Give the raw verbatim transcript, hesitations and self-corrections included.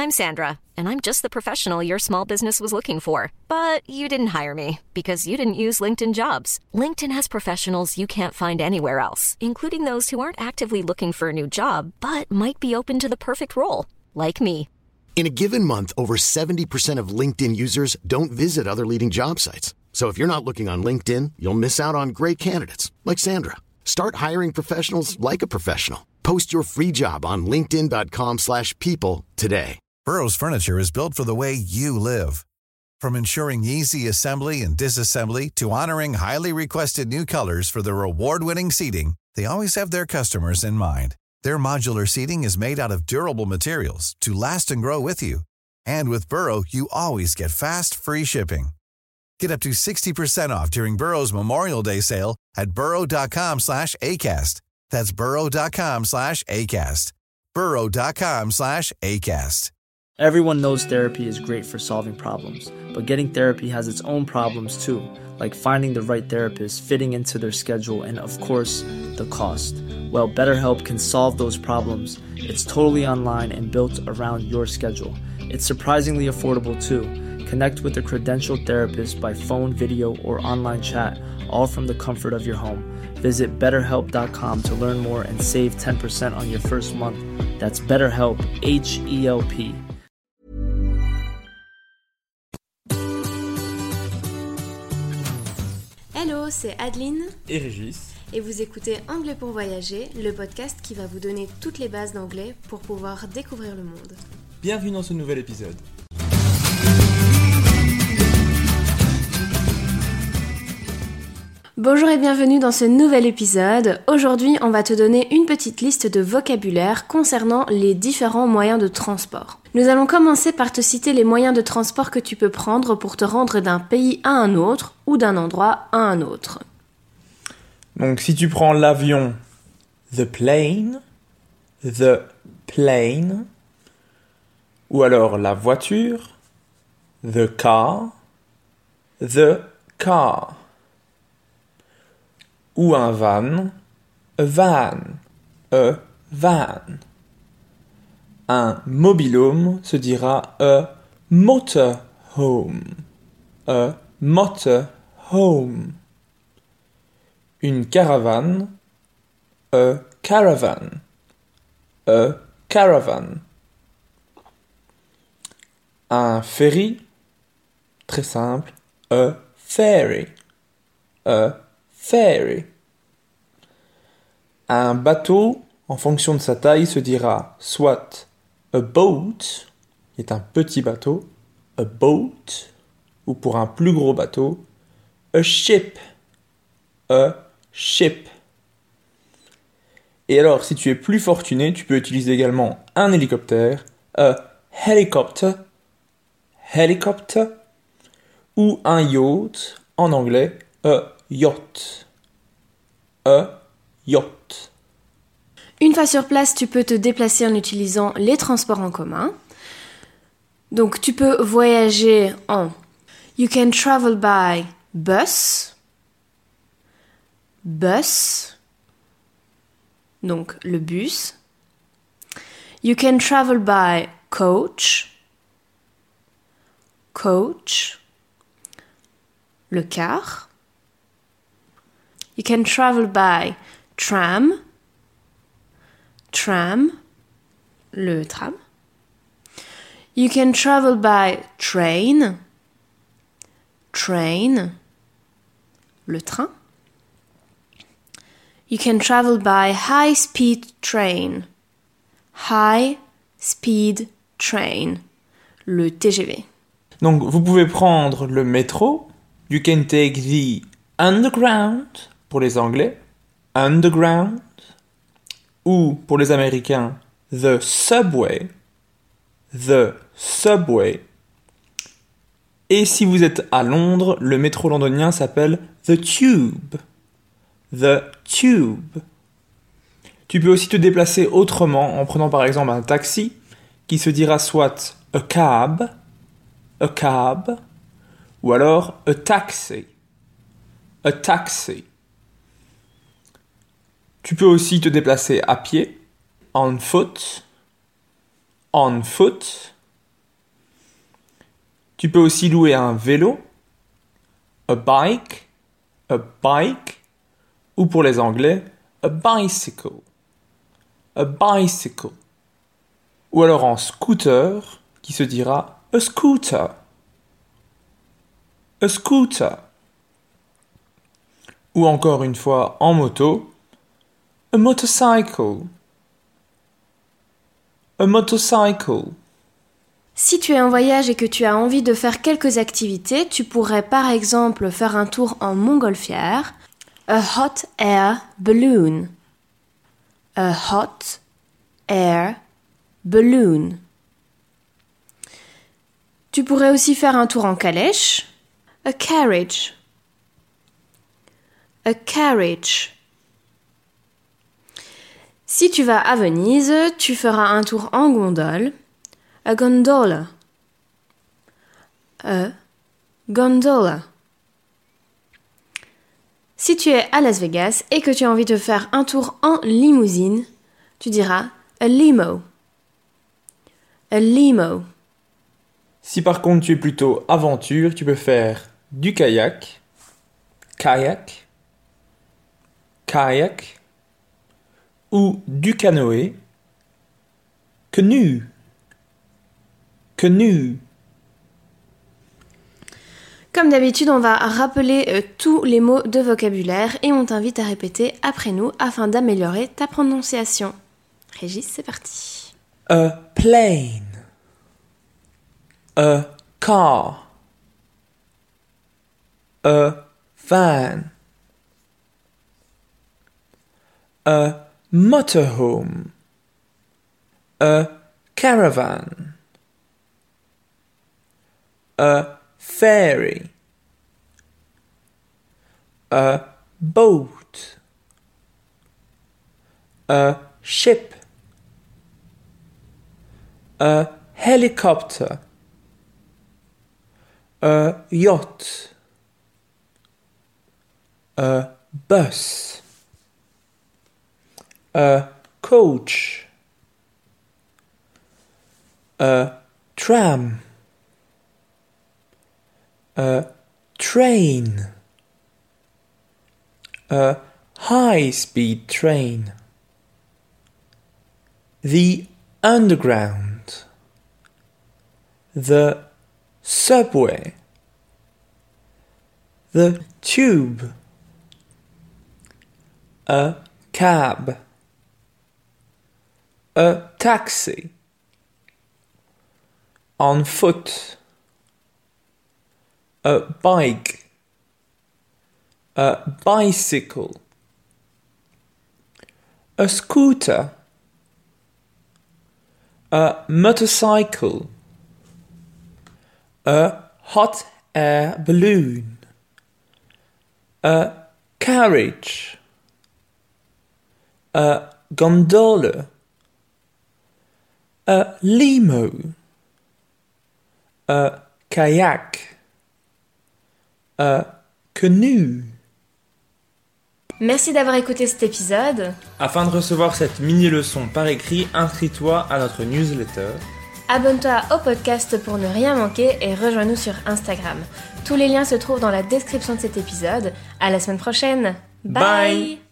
I'm Sandra, and I'm just the professional your small business was looking for. But you didn't hire me because you didn't use LinkedIn Jobs. LinkedIn has professionals you can't find anywhere else, including those who aren't actively looking for a new job, but might be open to the perfect role, like me. In a given month, over seventy percent of LinkedIn users don't visit other leading job sites. So if you're not looking on LinkedIn, you'll miss out on great candidates like Sandra. Start hiring professionals like a professional. Post your free job on linkedin.com slash people today. Burrow's furniture is built for the way you live. From ensuring easy assembly and disassembly to honoring highly requested new colors for their award-winning seating, they always have their customers in mind. Their modular seating is made out of durable materials to last and grow with you. And with Burrow, you always get fast, free shipping. Get up to sixty percent off during Burrow's Memorial Day sale at burrow.com slash ACAST. That's burrow.com slash ACAST. burrow.com slash ACAST. Everyone knows therapy is great for solving problems, but getting therapy has its own problems too, like finding the right therapist, fitting into their schedule, and of course, the cost. Well, BetterHelp can solve those problems. It's totally online and built around your schedule. It's surprisingly affordable too. Connect with a credentialed therapist by phone, video, or online chat, all from the comfort of your home. Visit better help dot com to learn more and save ten percent on your first month. That's BetterHelp, H E L P. Hello, c'est Adeline et Régis. Et vous écoutez Anglais pour voyager, le podcast qui va vous donner toutes les bases d'anglais pour pouvoir découvrir le monde. Bienvenue dans ce nouvel épisode. Bonjour et bienvenue dans ce nouvel épisode. Aujourd'hui, on va te donner une petite liste de vocabulaire concernant les différents moyens de transport. Nous allons commencer par te citer les moyens de transport que tu peux prendre pour te rendre d'un pays à un autre ou d'un endroit à un autre. Donc si tu prends l'avion, the plane, the plane, ou alors la voiture, the car, the car. Ou un van, a van, a van. Un mobilhome se dira a motorhome, a motorhome. Une caravane, a caravan, a caravan. Un ferry, très simple, a ferry, a ferry. Un bateau, en fonction de sa taille, se dira soit a boat, qui est un petit bateau, a boat, ou pour un plus gros bateau, a ship, a ship. Et alors, si tu es plus fortuné, tu peux utiliser également un hélicoptère, a helicopter, helicopter, ou un yacht, en anglais, a yacht, a yacht. Une fois sur place, tu peux te déplacer en utilisant les transports en commun. Donc, tu peux voyager en You can travel by bus, bus, donc le bus. You can travel by coach, coach, le car. You can travel by tram, tram, le tram. You can travel by train, train, le train. You can travel by high-speed train, high-speed train, le T G V. Donc, vous pouvez prendre le métro. You can take the underground, pour les Anglais, underground, ou pour les Américains, the subway, the subway. Et si vous êtes à Londres, le métro londonien s'appelle the tube, the tube. Tu peux aussi te déplacer autrement en prenant par exemple un taxi qui se dira soit a cab, a cab, ou alors a taxi, a taxi. Tu peux aussi te déplacer à pied, on foot, on foot, Tu peux aussi louer un vélo, a bike, a bike, ou pour les Anglais, a bicycle, a bicycle. Ou alors en scooter, qui se dira a scooter, a scooter. Ou encore une fois en moto, a motorcycle, a motorcycle. Si tu es en voyage et que tu as envie de faire quelques activités, tu pourrais par exemple faire un tour en montgolfière, a hot air balloon, a hot air balloon. Tu pourrais aussi faire un tour en calèche, a carriage, a carriage. Si tu vas à Venise, tu feras un tour en gondole, a gondola, a gondola. Si tu es à Las Vegas et que tu as envie de faire un tour en limousine, tu diras a limo, a limo. Si par contre tu es plutôt aventure, tu peux faire du kayak, kayak, kayak, ou du canoë, canoe, canoe. Comme d'habitude, on va rappeler euh, tous les mots de vocabulaire et on t'invite à répéter après nous afin d'améliorer ta prononciation. Régis, c'est parti. A plane, a car, a van, a motorhome, a caravan, a ferry, a boat, a ship, a helicopter, a yacht, a bus, a coach, a tram, a train, a high-speed train, the underground, the subway, the tube, a cab, a taxi, on foot, a bike, a bicycle, a scooter, a motorcycle, a hot air balloon, a carriage, a gondola, a limo, a kayak, a canoe. Merci d'avoir écouté cet épisode. Afin de recevoir cette mini-leçon par écrit, inscris-toi à notre newsletter. Abonne-toi au podcast pour ne rien manquer et rejoins-nous sur Instagram. Tous les liens se trouvent dans la description de cet épisode. À la semaine prochaine. Bye. Bye.